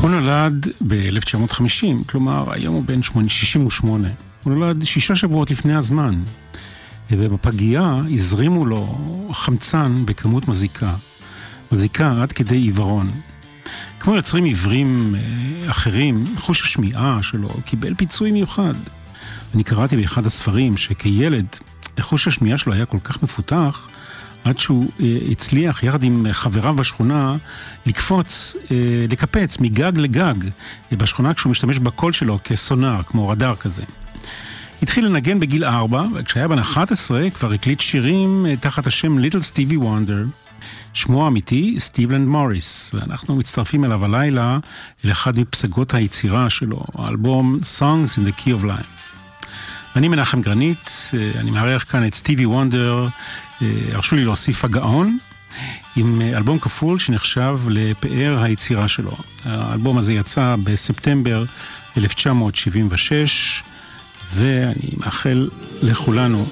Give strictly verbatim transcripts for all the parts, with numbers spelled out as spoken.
הוא נולד ב-אלף תשע מאות וחמישים, כלומר היום הוא בן שישים ושמונה. הוא נולד שישה שבועות לפני הזמן, ובפגייה הזרימו לו חמצן בכמות מזיקה. מזיקה עד כדי עיוורון. כמו יוצרים עיוורים אחרים, חוש השמיעה שלו קיבל פיצוי מיוחד. אני קראתי באחד הספרים שכילד, חוש השמיעה שלו היה כל כך מפותח, עד שהוא הצליח יחד עם חבריו בשכונה לקפוץ, לקפץ מגג לגג בשכונה כשהוא משתמש בקול שלו כסונר, כמו רדאר כזה. התחיל לנגן בגיל ארבע, וכשהיה בן אחת עשרה כבר הקליט שירים תחת השם ליטל סטיבי וונדר. שמו האמיתי סטיבלנד מוריס, ואנחנו מצטרפים אליו הלילה לאחד מפסגות היצירה שלו, האלבום Songs in the Key of Life. אני מנחם גרנית, אני מארח כאן את סטיבי וונדר, הרשו לי להוסיף הגאון, עם אלבום כפול שנחשב לפאר היצירה שלו. האלבום הזה יצא בספטמבר אלף תשע מאות שבעים ושש, ואני מאחל לכולנו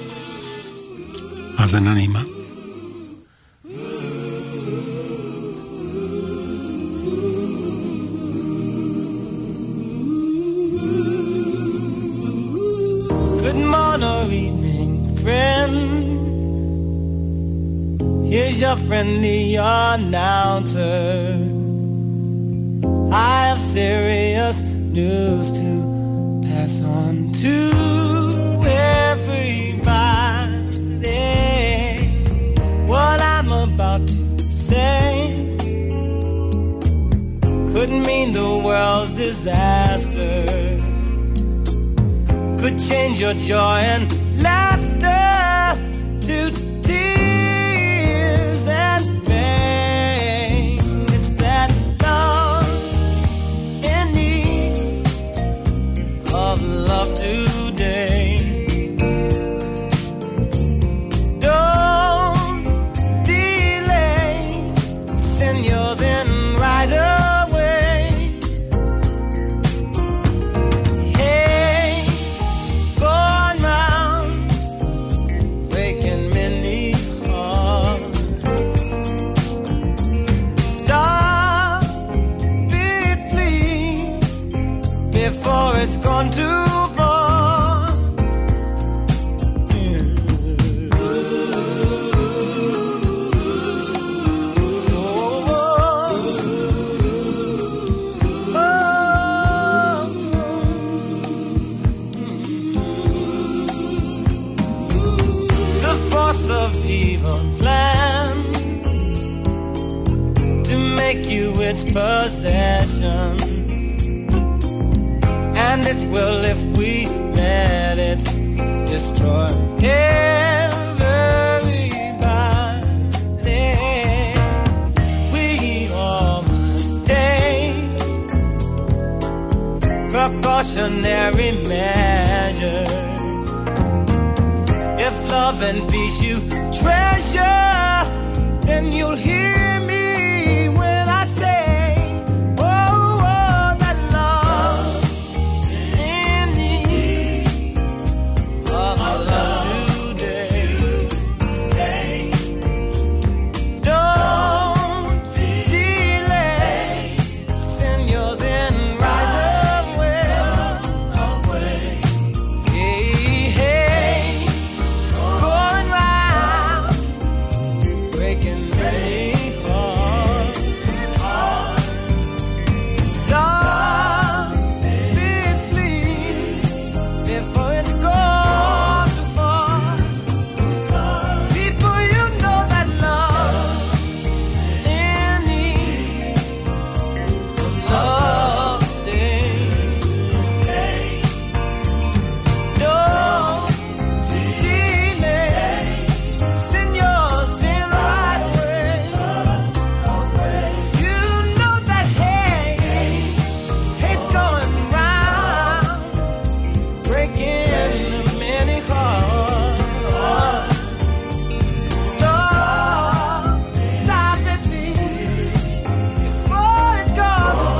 האזנה נעימה. Good morning, evening, friends. Here's your friendly announcer. I have serious news to pass on to everybody. What I'm about to say could mean the world's disaster, could change your joy and laughter to tears and pain. It's that love in need of love today. Don't delay, send yours in right away. Hey, going round, breaking many hearts. Stop it, please, before it's gone too far. The force of evil plans to make you its possession, and it will if we let it destroy everybody. We all must take precautionary measures. If love and peace you treasure, then you'll hear me when I say, oh, oh, that love in need of love today. Don't delay, send yours in right away. Hey, hey, going round, breaking many hearts. Stop it, please, before it's gone too far. People, you know that love in need of love today. Don't delay, send yours in right away. You know that hate, hate's going round, breaking many hearts. Stop, stop it, please, before it's gone too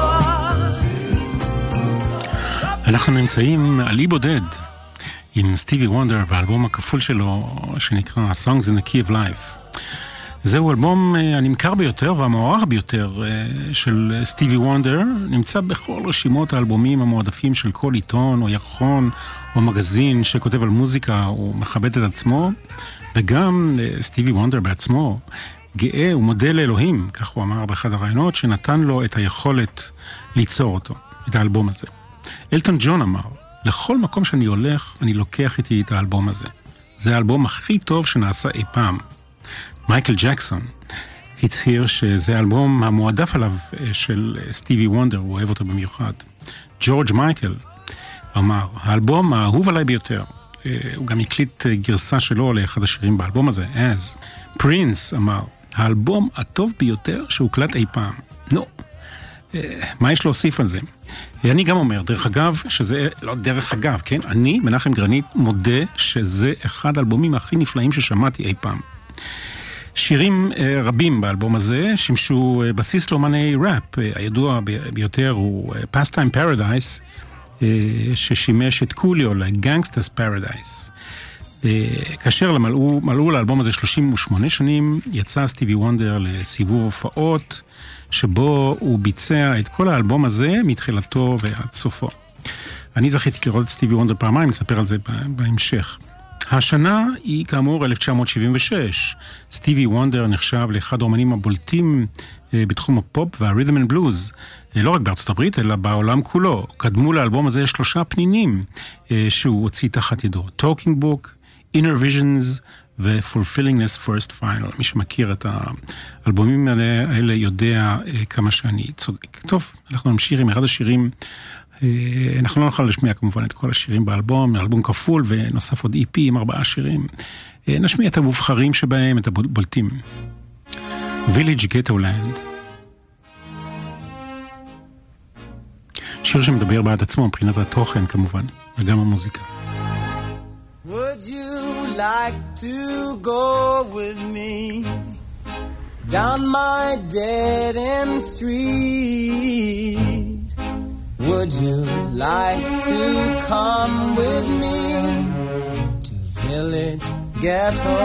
far. אנחנו נמצאים על אי בודד עם סטיבי וונדר והאלבום הכפול שלו שנקרא Songs in the Key of Life. זהו אלבום הנמכר ביותר והמוערך ביותר של סטיבי וונדר, נמצא בכל רשימות האלבומים המועדפים של כל עיתון או ירחון או מגזין שכותב על מוזיקה, הוא מכבד את עצמו, וגם סטיבי וונדר בעצמו גאה ומודה לאלוהים, כך הוא אמר באחד הרעיונות, שנתן לו את היכולת ליצור אותו, את האלבום הזה. אלטון ג'ון אמר, לכל מקום שאני הולך, אני לוקח איתי את האלבום הזה. זה האלבום הכי טוב שנעשה אי פעם. מייקל ג'קסון הצהיר שזה האלבום המועדף עליו של סטיבי וונדר, הוא אוהב אותו במיוחד. ג'ורג' מייקל אמר, האלבום האהוב עליי ביותר. הוא גם הקליט גרסה שלו לאחד השירים באלבום הזה, אז. פרינס אמר, האלבום הטוב ביותר שהוקלט אי פעם. נו, מה יש להוסיף על זה? אני גם אומר, דרך אגב, שזה, לא דרך אגב, כן? אני, מנחם גרנית, מודה שזה אחד האלבומים הכי נפלאים ששמעתי אי פעם. שירים רבים באלבום הזה שימשו בסיס לאומני ראפ. הידוע ביותר הוא Pastime Paradise, ששימש את קוליו ל-Gangsta's Paradise. כאשר מלאו, מלאו לאלבום הזה שלושים ושמונה שנים, יצא סטיבי וונדר לסיבוב הופעות, שבו הוא ביצע את כל האלבום הזה מתחילתו ועד סופו. אני זכיתי לראות את סטיבי וונדר פעמיים, נספר על זה בהמשך. השנה היא כאמור אלף תשע מאות שבעים ושש. סטיבי וונדר נחשב לאחד האומנים הבולטים בתחום הפופ והרית'ם אנד בלוז, לא רק בארצות הברית אלא בעולם כולו. קדמו לאלבום הזה שלושה פנינים שהוא הוציא תחת ידו, Talking Book, Inner Visions ו-Fulfillingness First Final. מי שמכיר את האלבומים האלה, האלה יודע כמה שאני צודק. טוב, אנחנו נמשיך עם אחד השירים. אנחנו לא נוכל לשמיע כמובן את כל השירים באלבום, אלבום כפול ונוסף עוד אי פי עם ארבעה שירים. נשמיע את המובחרים שבהם, את הבולטים. Village Ghetto Land. שיר שמדבר בעד עצמו מבחינת התוכן כמובן, וגם המוזיקה. Would you like to go with me down my dead-end street? Would you like to come with me to Village Ghetto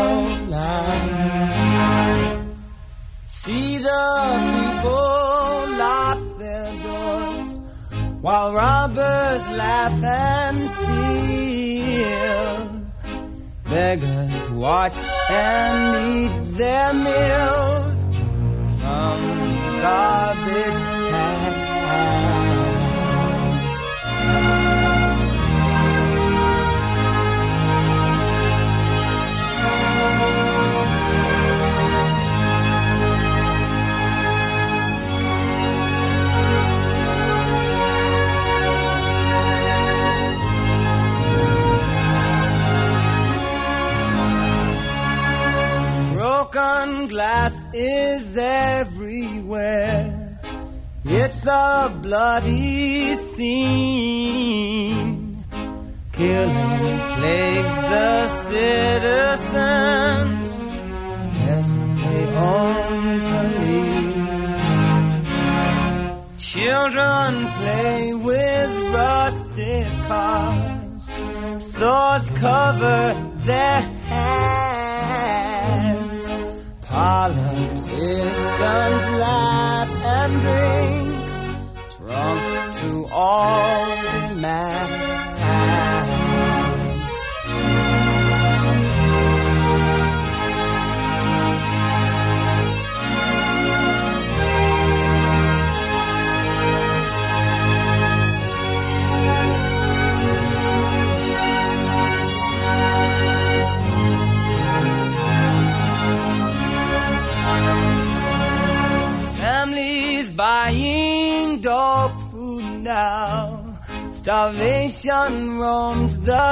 Land? See the people lock their doors while robbers laugh and steal. Beggars watch and eat their meals from garbage cans. Broken glass is everywhere. It's a bloody scene. Killing plagues the citizens unless they own police. Children play with rusted cars. Swords cover their hands. Politicians laugh and drink, drunk to all demands. Buying dog food now. Starvation roams the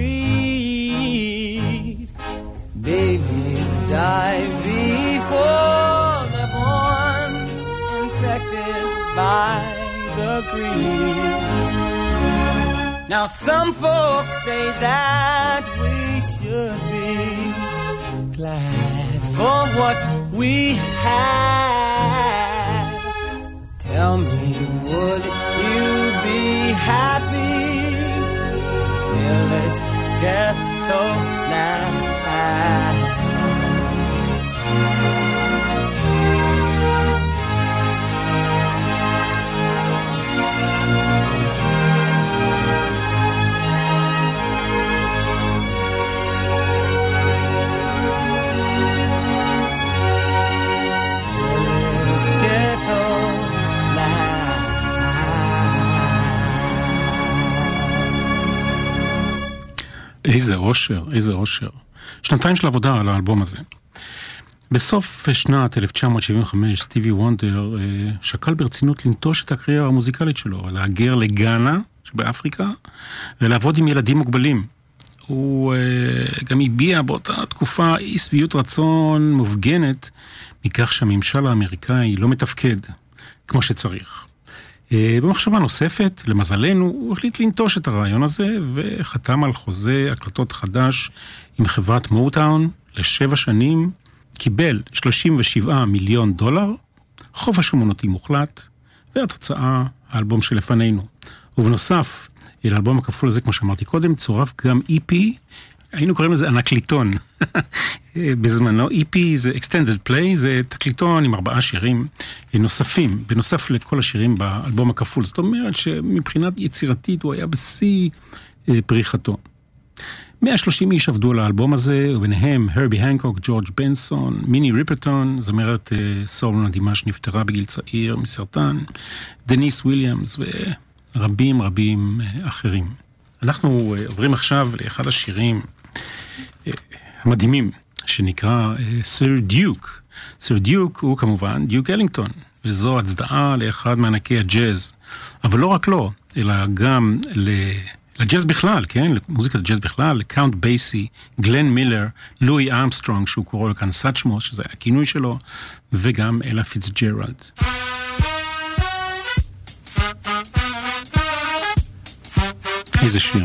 street. Babies die before they're born, infected by the greed. Now some folks say that we should be glad for what we have. Tell me, would you be happy? Village Ghetto Land. איזה אושר, איזה אושר. שנתיים של עבודה על האלבום הזה. בסוף שנת אלף תשע מאות שבעים וחמש, סטיבי וונדר אה, שקל ברצינות לנטוש את הקריירה המוזיקלית שלו, להגר לגאנה, שבאפריקה, ולעבוד עם ילדים מוגבלים. הוא אה, גם הביע באותה תקופה אי שביעות רצון מופגנת, מכך שהממשל האמריקאי לא מתפקד כמו שצריך. אה, במחשבה נוספת, למזלנו, הוא החליט לנטוש את הרעיון הזה, וחתם על חוזה הקלטות חדש עם חברת מוטאון לשבע שנים, קיבל שלושים ושבעה מיליון דולר, חופש שמונותי מוחלט, והתוצאה, האלבום שלפנינו. ובנוסף, אל האלבום הכפול הזה, כמו שאמרתי קודם, צורף גם אי פי, היינו קוראים לזה אנקליטון. בזמנו, אי פי זה Extended Play, זה תקליטון עם ארבעה שירים נוספים, בנוסף לכל השירים באלבום הכפול. זאת אומרת שמבחינת יצירתית הוא היה בשיא פריחתו. מאה ושלושים איש עבדו על האלבום הזה, וביניהם הרבי הנקוק, ג'ורג' בנסון, מיני ריפרטון, זמרת סול מדהימה שנפטרה בגיל צעיר מסרטן, דניס וויליאמס ורבים רבים אחרים. אנחנו עוברים עכשיו לאחד השירים המדהימים, שנקרא סיר דיוק. סיר דיוק הוא כמובן דיוק אלינגטון, וזו הצדעה לאחד מענקי הג'אז, אבל לא רק לו, אלא גם ל... לג'אז בכלל, כן? למוזיקת הג'אז בכלל, לקאונט בייסי, גלן מילר, לואי ארמסטרונג, שהוא קורא לו כאן סאצ'מו, שזה היה הכינוי שלו, וגם אלה פיצג'רלד. איזה שיר.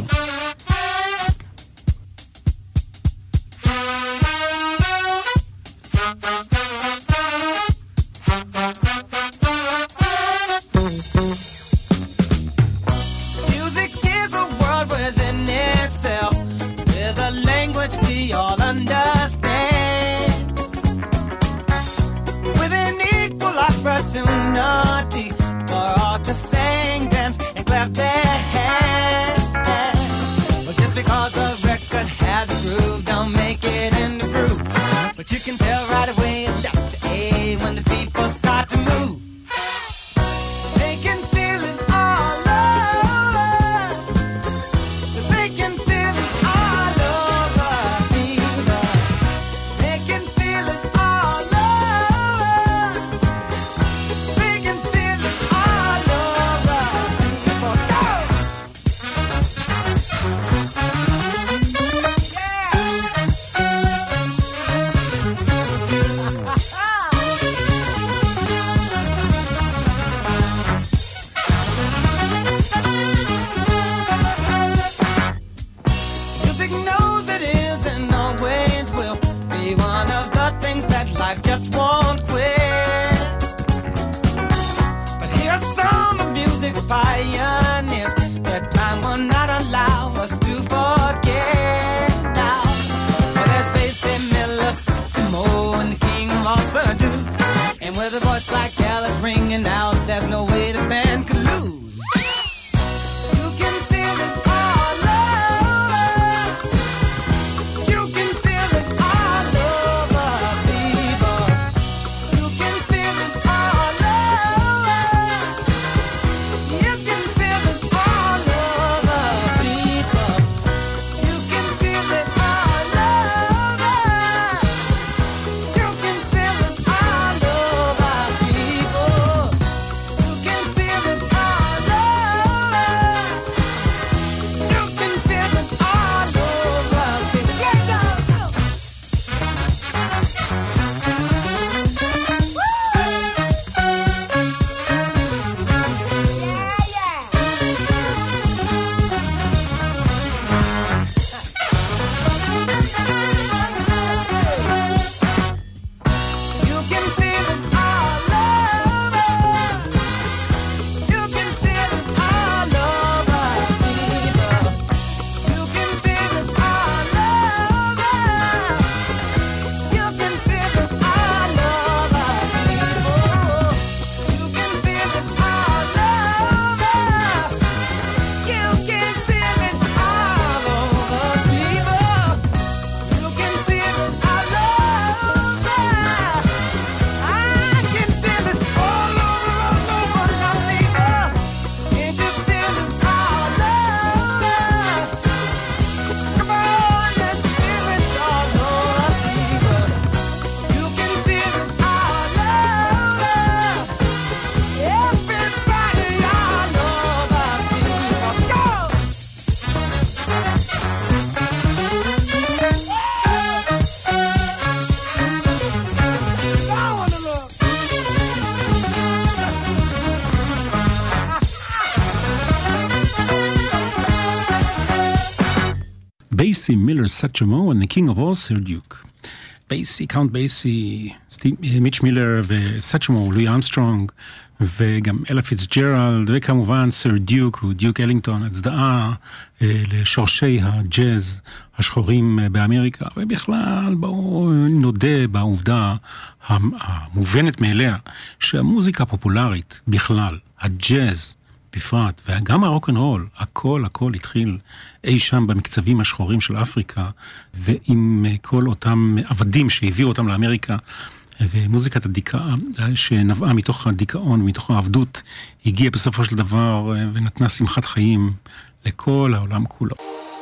Basie, Miller, Satchmo, and the king of all, Sir Duke. בייסי, קאונט בייסי, מיץ' מילר וסאצ'מו, לואי אמסטרונג, וגם אלה פיצג'רלד, וכמובן סר דיוק, הוא דיוק אלינגטון, הצדעה לשורשי הג'אז השחורים באמריקה, ובכלל בואו נודה בעובדה המובנת מאליה, שהמוזיקה הפופולרית בכלל, הג'אז בפרט, וגם הרוק'נ'רול, הכל הכל התחיל אי שם במקצבים השחורים של אפריקה, ועם כל אותם עבדים שהביאו אותם לאמריקה, ומוזיקת הדיכאה שנבעה מתוך הדיכאון, מתוך העבדות, הגיעה בסופו של דבר ונתנה שמחת חיים לכל העולם כולו.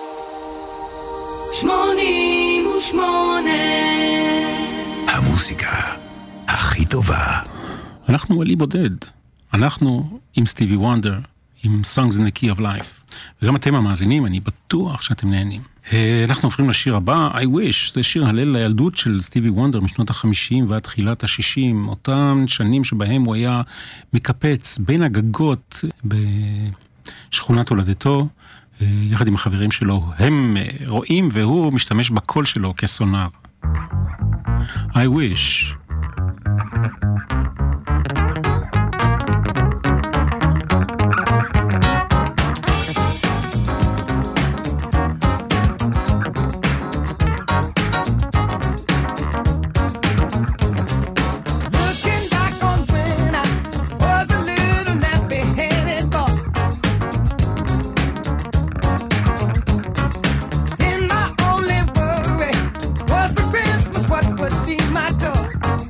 שמונים ושמונה המוזיקה הכי טובה. אנחנו ולי בודד. אנחנו עם סטיבי וונדר, עם Songs in the Key of Life. וגם אתם המאזינים, אני בטוח שאתם נהנים. אנחנו עוברים לשיר הבא, I Wish, זה שיר הלל לילדות של סטיבי וונדר משנות החמישים ועד תחילת השישים, אותם שנים שבהם הוא היה מקפץ בין הגגות בשכונת הולדתו, יחד עם החברים שלו, הם רואים והוא משתמש בקול שלו כסונר. I Wish. What would be my door?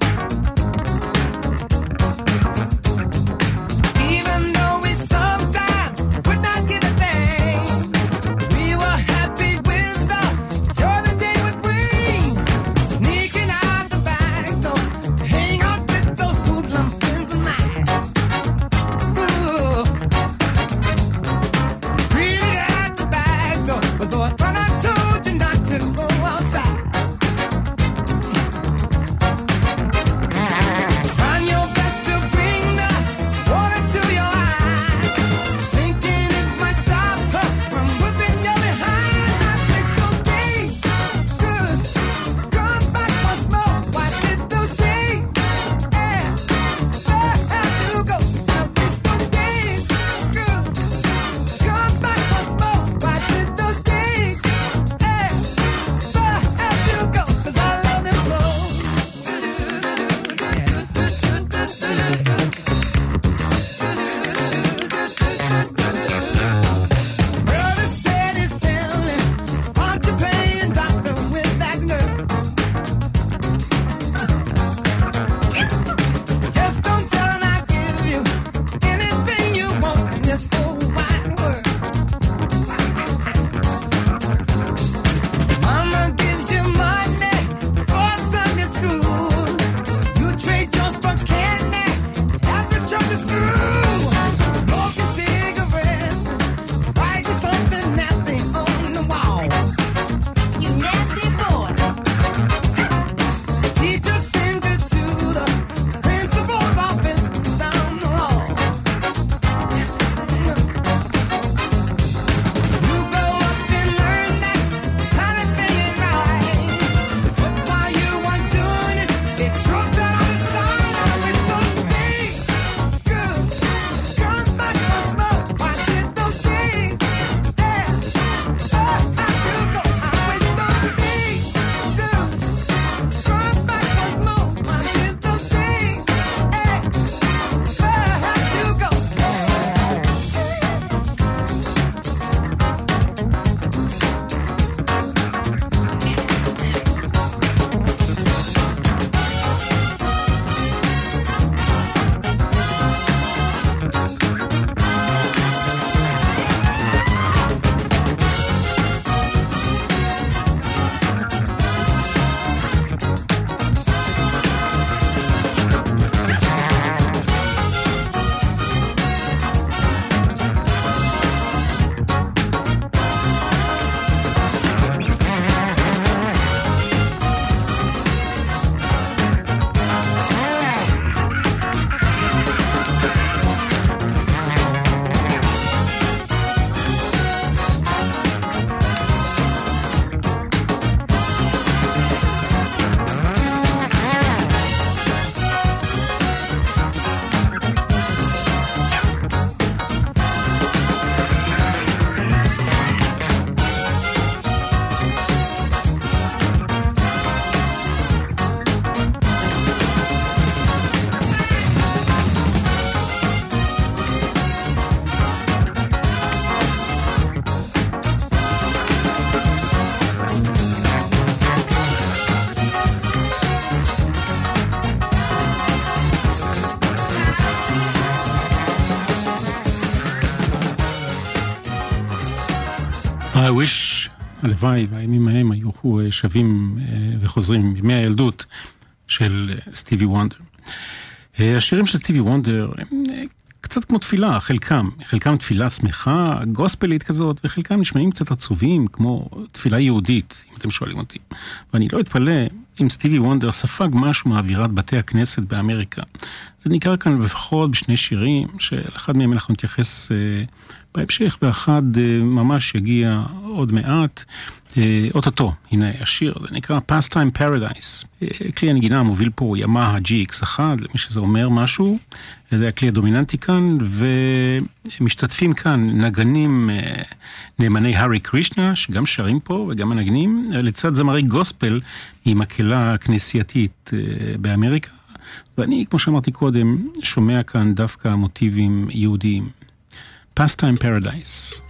I wish, הלוואי, והימים ההם היו שווים וחוזרים מימי הילדות של סטיבי וונדר. השירים של סטיבי וונדר הם קצת כמו תפילה, חלקם, חלקם תפילה שמחה, גוספלית כזאת, וחלקם נשמעים קצת עצובים, כמו תפילה יהודית, אם אתם שואלים אותי. ואני לא אתפלא אם סטיבי וונדר ספג משהו מאווירת בתי הכנסת באמריקה. זה ניכר כאן לפחות בשני שירים, שלאחד מהם אנחנו נתייחס אה, בהמשך, ואחד אה, ממש יגיע עוד מעט, אה, אוטוטו, הנה השיר, זה נקרא Pastime Paradise. אה, כלי הנגינה המוביל פה הוא ימאהה ג'י אקס אחת, למי שזה אומר משהו, זה הכלי הדומיננטי כאן, ומשתתפים כאן נגנים אה, נאמני הארי קרישנה, שגם שרים פה וגם מנגנים, לצד זמרי גוספל עם מקהלה כנסייתית אה, באמריקה, ואני, כמו שאמרתי קודם, שומע כאן דווקא מוטיבים יהודיים. Pastime Paradise.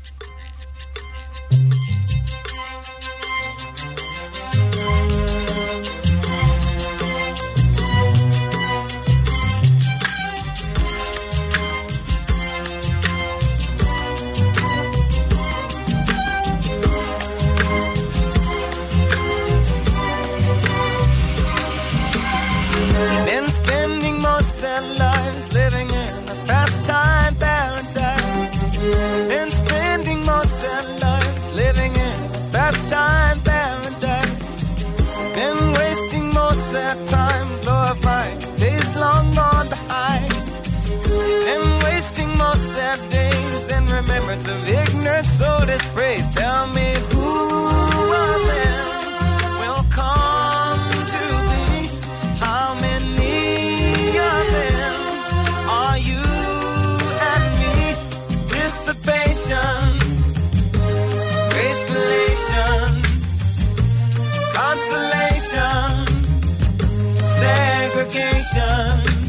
Been spending most of their lives living in a pastime paradise. Been spending most of their lives living in a pastime paradise. Been wasting most of their time glorifying days long gone behind. Been wasting most of their days in remembrance of ignorance, so dispraise. Tell me who of them will come to be? How many of them are you and me? Dissipation, grace relations, consolation, segregation,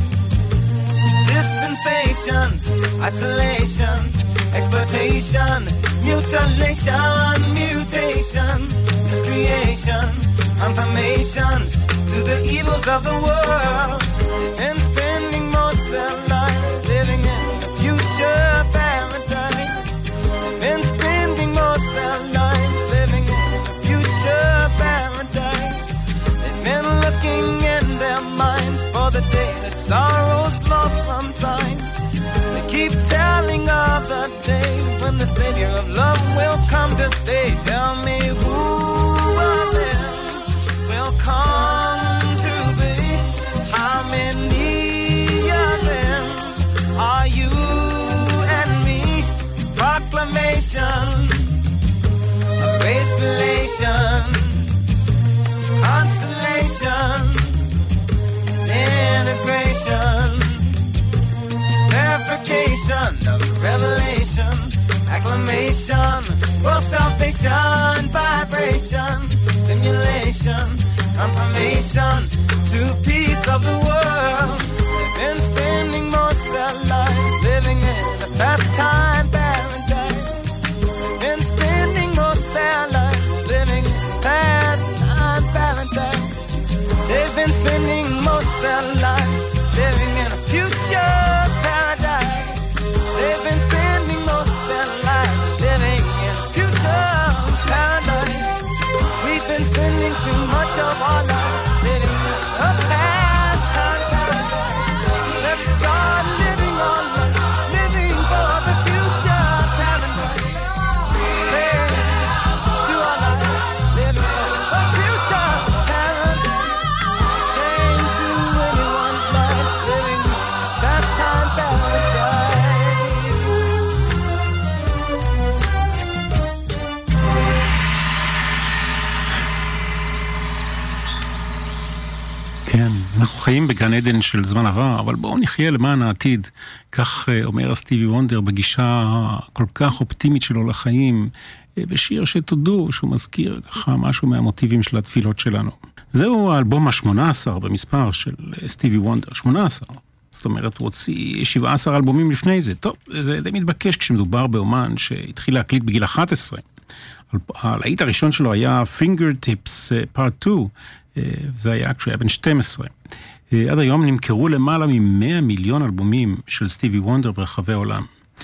dispensation, isolation, exploitation, mutilation, mutation, miscreation, confirmation to the evils of the world, and spending most of their lives living in a future paradise, and spending most of their lives living in a future paradise. They've been looking in their minds for the day that sorrow's lost from time. They keep telling of the day when the Savior of love will come to stay. Tell me who of them will come to be? How many of them are you and me? Proclamation of grace relations, consolation, integration, verification of revelation, acclamation, world salvation, vibration, stimulation, confirmation to peace of the world. They've been spending most of their lives living in a pastime paradise. They've been spending most of their lives living in a pastime paradise. They've been spending most of their lives living in a future paradise. They've been spending most of their lives living in a future paradise. We've been spending too much of our lives living in a pastime paradise. Let's start living on life, living for the future paradise. Pray to our lives, living for the future paradise. Saying to anyone's life, living in a pastime paradise. כן, אנחנו חיים בגן עדן של זמן עבר, אבל בואו נחיה למען העתיד. כך אומר סטיבי וונדר בגישה כל כך אופטימית שלו לחיים, בשיר שתודו שהוא מזכיר ככה משהו מהמוטיבים של התפילות שלנו. זהו האלבום ה-שמונה עשר במספר של סטיבי וונדר, שמונה עשר. זאת אומרת, הוא הוציא שבעה עשר אלבומים לפני זה. טוב, זה די מתבקש כשמדובר באומן שהתחיל להקליט בגיל אחת עשרה. הלהיט הראשון שלו היה Fingertips Part שתיים, זה היה כשהוא היה בן שתים עשרה. עד היום נמכרו למעלה מ-מאה מיליון אלבומים של סטיבי וונדר ברחבי העולם.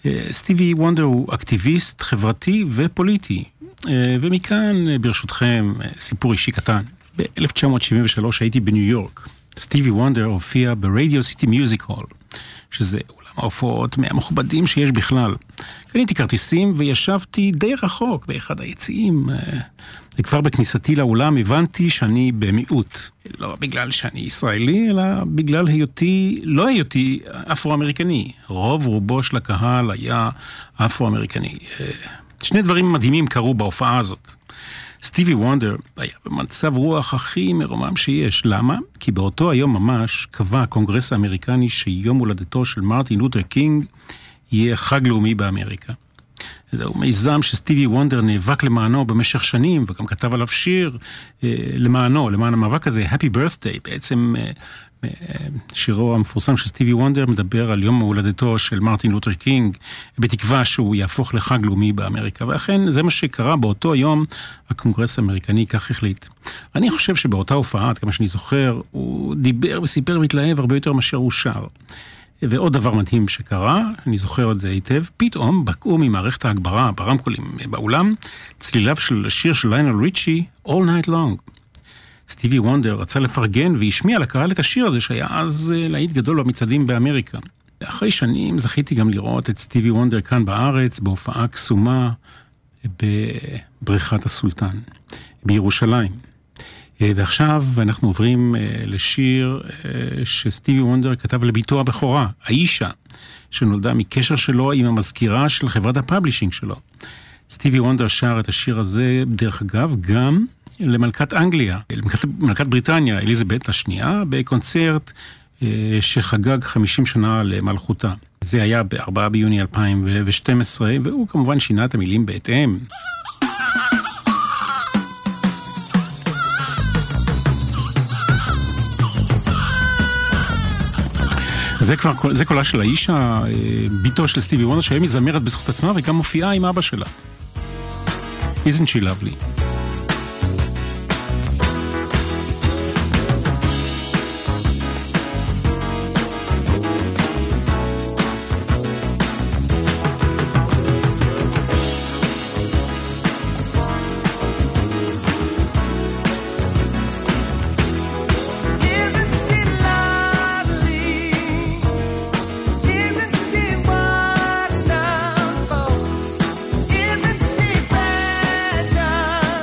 סטיבי וונדר הוא אקטיביסט חברתי ופוליטי, ומכאן ברשותכם סיפור אישי קטן. ב-אלף תשע מאות שבעים ושלוש הייתי בניו יורק. סטיבי וונדר הופיע ברדיו סיטי מיוזיק הול, שזה אולם ההופעות מהמכובדים שיש בכלל. קניתי כרטיסים וישבתי די רחוק באחד היציעים. וכבר בכניסתי לאולם הבנתי שאני במיעוט. לא בגלל שאני ישראלי, אלא בגלל היותי, לא היותי אפרו-אמריקני. רוב רובו של הקהל היה אפרו-אמריקני. שני דברים מדהימים קרו בהופעה הזאת. סטיבי וונדר היה במצב רוח הכי מרומם שיש. למה? כי באותו היום ממש קבע הקונגרס האמריקני שיום הולדתו של מרטין לותר קינג יהיה חג לאומי באמריקה. זהו מיזם שסטיבי וונדר נאבק למענו במשך שנים, וגם כתב עליו שיר אה, למענו, למען המאבק הזה, Happy Birthday. בעצם אה, אה, שירו המפורסם של סטיבי וונדר מדבר על יום הולדתו של מרטין לותר קינג, בתקווה שהוא יהפוך לחג לאומי באמריקה. ואכן זה מה שקרה באותו יום, הקונגרס האמריקני כך החליט. אני חושב שבאותה הופעה, עד כמה שאני זוכר, הוא דיבר וסיפר מתלהב הרבה יותר מאשר הוא שר. ועוד דבר מדהים שקרה, אני זוכר את זה היטב, פתאום בקעו ממערכת ההגברה ברמקולים באולם, צליליו של השיר של ליונל ריצ'י, All Night Long. סטיבי וונדר רצה לפרגן והשמיע לקהל את השיר הזה, שהיה אז להיט גדול במצעדים באמריקה. אחרי שנים זכיתי גם לראות את סטיבי וונדר כאן בארץ, בהופעה קסומה בבריכת הסולטן, בירושלים. ועכשיו אנחנו עוברים לשיר שסטיבי וונדר כתב לביתו הבכורה, האישה, שנולדה מקשר שלו עם המזכירה של חברת הפאבלישינג שלו. סטיבי וונדר שר את השיר הזה, דרך אגב, גם למלכת אנגליה, למלכת, מלכת בריטניה, אליזבת השנייה, בקונצרט שחגג חמישים שנה למלכותה. זה היה ב-ארבעה ביוני אלפיים ושתים עשרה, והוא כמובן שינה את המילים בהתאם. זה כבר, זה קולה של האישה, ביתו של סטיבי וונדר, שהיא מזמרת בזכות עצמה וגם מופיעה עם אבא שלה. Isn't she lovely? Isn't she precious?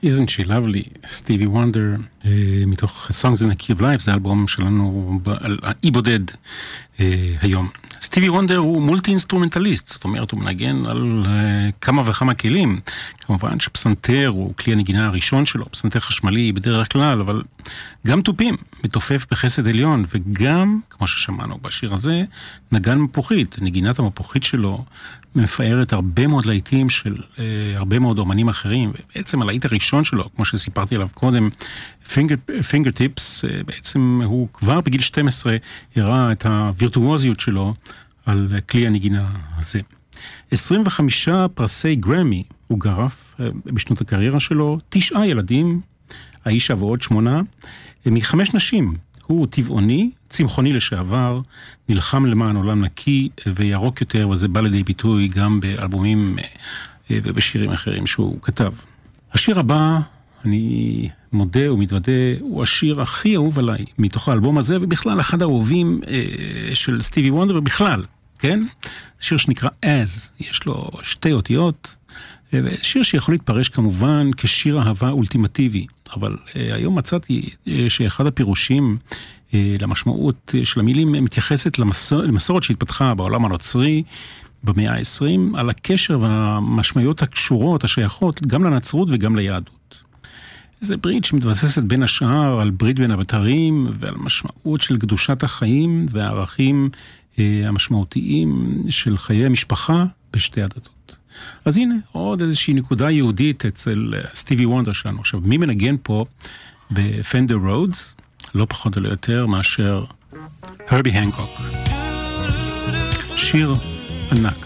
Isn't She Lovely, סטיבי וונדר, מתוך Songs in a Key of Life, זה האלבום שלנו על אי בודד היום. סטיבי וונדר הוא מולטי אינסטרומנטליסט, זאת אומרת הוא מנגן על כמה וכמה כלים, כמובן שפסנתר הוא כלי הנגינה הראשון שלו, פסנתר חשמלי בדרך כלל, אבל גם טופים, מתופף בחסד עליון, וגם, כמו ששמענו בשיר הזה, נגן מפוחית, נגינת המפוחית שלו, מפארת הרבה מאוד להיטים של אה, הרבה מאוד אומנים אחרים, ובעצם הלהיט הראשון שלו, כמו שסיפרתי עליו קודם, Fingertips, אה, בעצם הוא כבר בגיל שתים עשרה הראה את הווירטואוזיות שלו על כלי הנגינה הזה. עשרים וחמישה פרסי גרמי הוא גרף אה, בשנות הקריירה שלו, תשעה ילדים, האישה ועוד שמונה, אה, מחמש נשים. הוא טבעוני, צמחוני לשעבר, נלחם למען עולם נקי וירוק יותר, וזה בא לידי ביטוי גם באלבומים ובשירים אחרים שהוא כתב. השיר הבא, אני מודה ומתוודה, הוא השיר הכי אהוב עליי מתוך האלבום הזה, ובכלל אחד האהובים של סטיבי וונדר, ובכלל, כן? שיר שנקרא As, יש לו שתי אותיות, שיר שיכול להתפרש כמובן כשיר אהבה אולטימטיבי, אבל היום מצאתי שאחד הפירושים למשמעות של המילים מתייחסת למסור, למסורת שהתפתחה בעולם הנוצרי במאה ה-עשרים, על הקשר והמשמעויות הקשורות, השייכות, גם לנצרות וגם ליהדות. זה ברית שמתבססת בין השאר על ברית בין הבתרים ועל משמעות של קדושת החיים והערכים המשמעותיים של חיי המשפחה בשתי הדתות. אז הנה, עוד איזושהי נקודה יהודית אצל סטיבי וונדר שלנו. עכשיו, מי מנגן פה בפנדר רודס? לא פחות או יותר מאשר הרבי הנקוק. שיר ענק.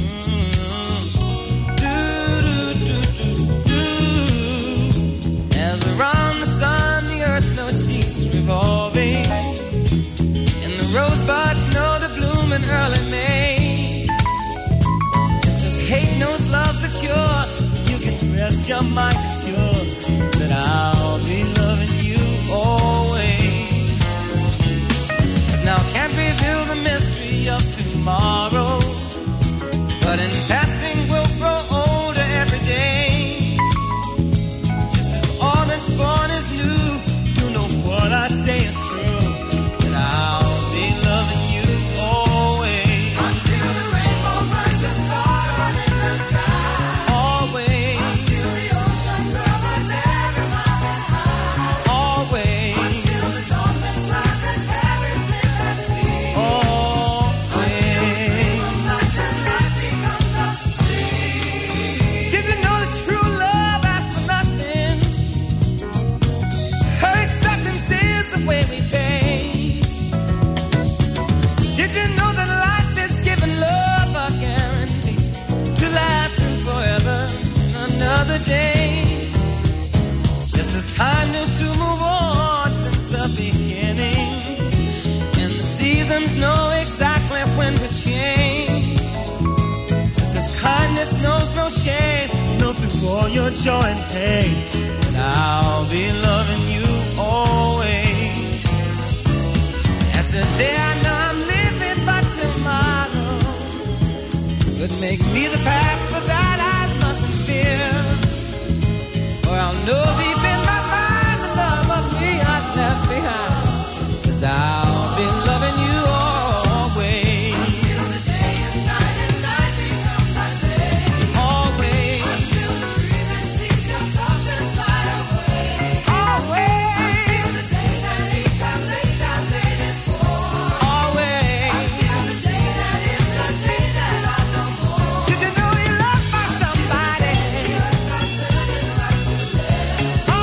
As around the sun the earth knows she's revolving, and the rosebuds know to bloom in early May. Just as hate knows love's the cure, you can rest your mind assured that I'll be loving you always. As now can't reveal the mystery of tomorrow, but in passing we'll grow older every day. Just as all that's born is new, you know what I say is true, that I'll be loving you always. Until the rainbow finds a star in the sky. Always. Until the ocean covers every mountain high. Always. Until the dolphin flies and everything that sees. Always. Until the light becomes a dream. Did you know that true love asks for nothing? Her acceptance is the way we pay. Did you know that life is giving love a guarantee to last through forever in another day? Just as time knew to move on since the beginning, and the seasons know exactly when to change. Just as kindness knows no shame, know through all your joy and pain, that I'll be loving you always. As the day I know I'm living, but tomorrow could make me the past, but that I mustn't fear. For I'll know deep in my mind the love of me I've left behind, 'cause I'll be loving you always. Until the day is night and night becomes my day. Always. Until the breathing ceases to soft and fly away. Always. Until the day that each time late I've waited for. Always. Until the day that is the day that I'll know more. Did you know you loved by somebody? Yes, I said it right to live.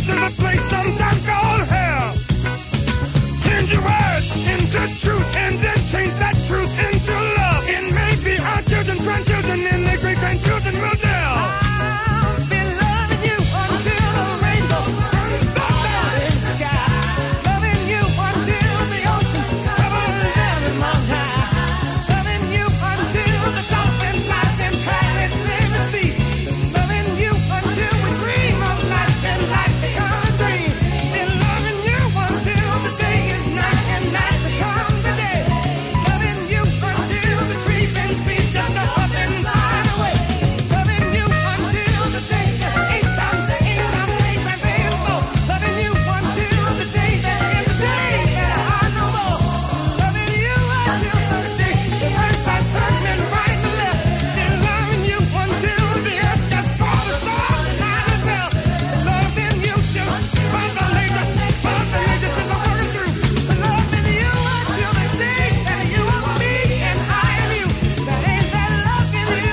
this is a place sometimes called hell. Change your words into truth and then change that truth into love. And maybe our children, grandchildren, and their great grandchildren will tell. I'll be loving you until the rainbow burns the mountain sky. Loving you until the ocean covers every mountain. Loving you until the dolphin flies in Paris, live and see. Loving you until we dream of life and life becomes a dream. And loving you until the day is night and night becomes the day. Loving you until the trees and seas just go up and fly away. Loving you until the day that eight times eight times eight times eight is four. Loving you until the day that is the day that I know more. Loving you until the day the earth starts turning right and left. And loving you until the earth just falls off the night itself. Loving you till Mother Nature, Mother Nature says I'm working through. Loving you until the day that you are me and I am you. That ain't that loving you.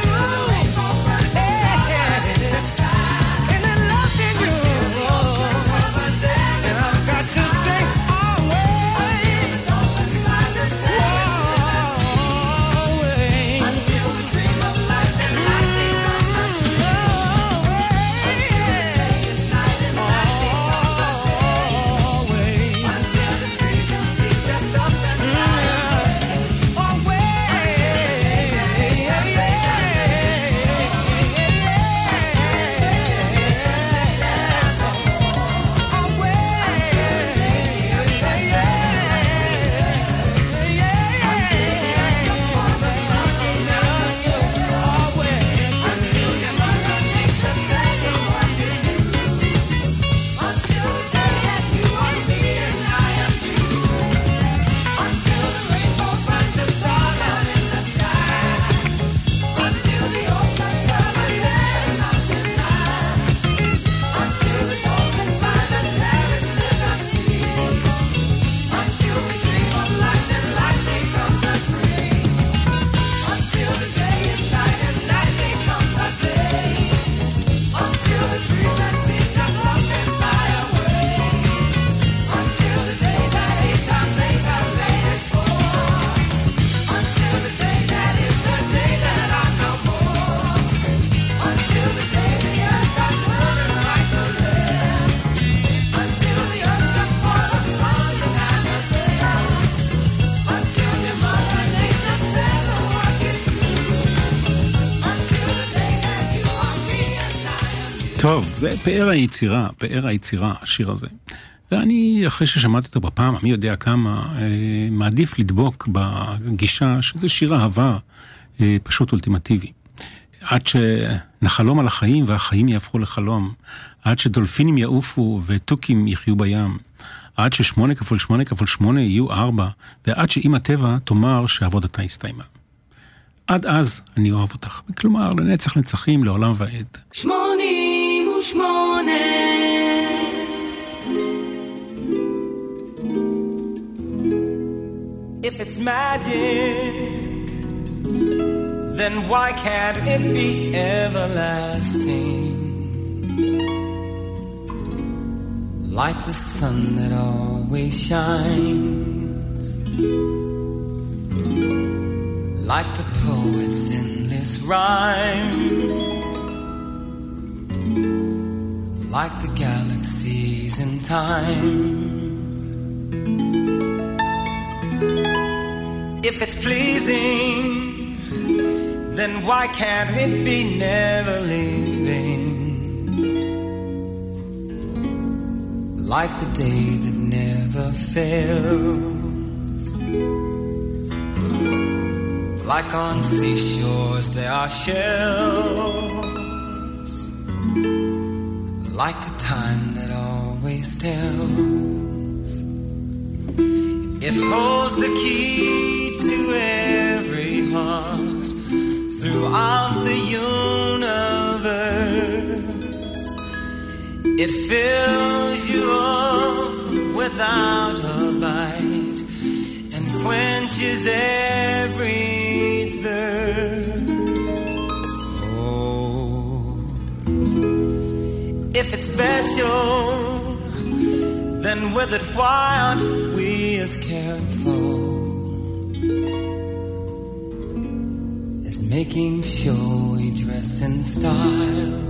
Hey, and then loving you. And I've got to say always, always. Until the dream of life and life becomes a dream. Always. Night and night becomes a day. Always. Until the trees and seas just up and fly away. Always. טוב, זה פאר היצירה, פאר היצירה, השיר הזה. ואני, אחרי ששמעתי אותו בפעם, מי יודע כמה, אה, מעדיף לדבוק בגישה שזה שיר אהבה אה, פשוט אולטימטיבי. עד שנחלום על החיים והחיים יהפכו לחלום, עד שדולפינים יעופו וטוקים יחיו בים, עד ששמונה כפול שמונה כפול שמונה יהיו ארבע, ועד שאמא טבע תאמר שעבודתה הסתיימה. עד אז אני אוהב אותך. כלומר, לנצח נצחים, לעולם ועד. שמונים ושמונה If it's magic, then why can't it be everlasting? Like the sun that always shines, like the poet's endless rhyme, like the galaxies in time. If it's pleasing, then why can't it be never leaving? Like the day that never fails. Like on seashores there are shells. Like the time that always tells. It holds the key to every heart throughout the universe. It fills you up without a bite and quenches every thirst. So, if it's special, and with it, why aren't we as careful as making sure we dress in style,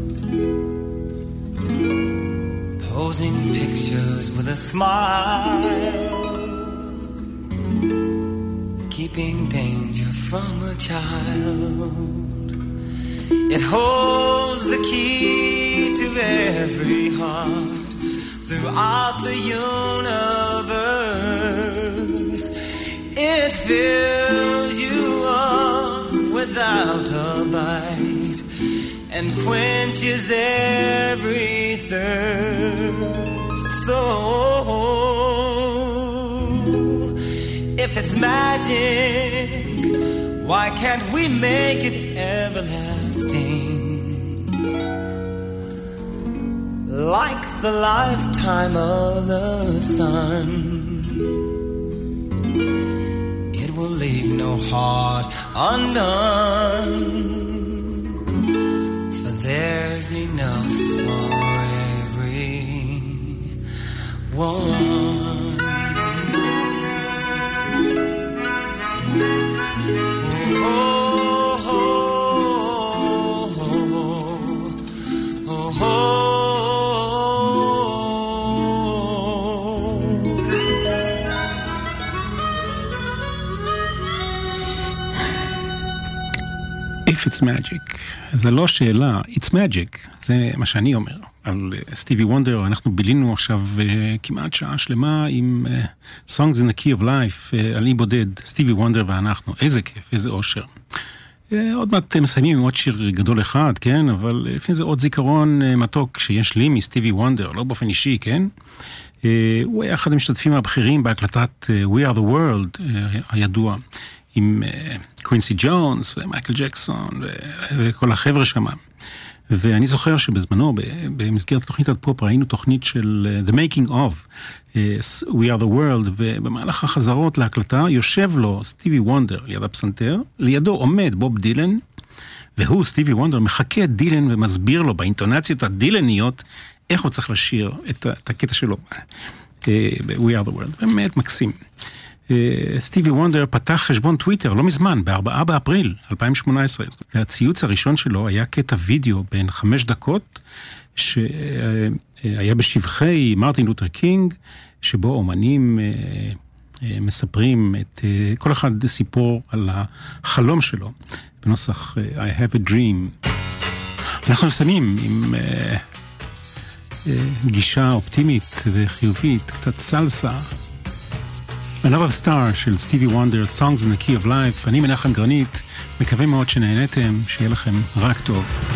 posing pictures with a smile, keeping danger from a child. It holds the key to every heart throughout the universe. It fills you up without a bite and quenches every thirst. So if it's magic, why can't we make it everlasting? Like the lifetime of the sun, it will leave no heart undone, for there's enough for everyone. It's magic. זה לא שאלה, it's magic. זה מה שאני אומר. על סטיבי וונדר, אנחנו בילינו עכשיו כמעט שעה שלמה עם Songs in the Key of Life, על אי בודד, סטיבי וונדר ואנחנו. איזה כיף, איזה אושר. עוד מעט מסיימים עם עוד שיר גדול אחד, כן? אבל לפני זה עוד זיכרון מתוק שיש לי מסטיבי וונדר, לא באופן אישי, כן? הוא היה אחד המשתתפים הבכירים בהקלטת We are the World, הידוע. עם קווינסי ג'ונס ומייקל ג'קסון וכל החבר'ה שם. ואני זוכר שבזמנו, במסגרת תוכנית הפופ, ראינו תוכנית של The Making of, We are the World, ובמהלך החזרות להקלטה יושב לו סטיבי וונדר ליד הפסנתר, לידו עומד בוב דילן, והוא, סטיבי וונדר, מחכה את דילן ומסביר לו באינטונציות הדילניות, איך הוא צריך לשיר את, את הקטע שלו. We are the World. באמת מקסים. סטיבי וונדר פתח חשבון טוויטר לא מזמן, בארבעה באפריל אלפיים שמונה עשרה. הציוץ הראשון שלו היה קטע וידאו בין חמש דקות, שהיה בשבחי מרטין לותר קינג, שבו אומנים מספרים את כל אחד סיפור על החלום שלו, בנוסח I have a dream. אנחנו מסיימים עם גישה אופטימית וחיובית, קצת סלסה. Another Star של סטיבי וונדר, Songs in the Key of Life. אני מנחם גרנית, מקווה מאוד שנהנתם, שיהיה לכם רק טוב.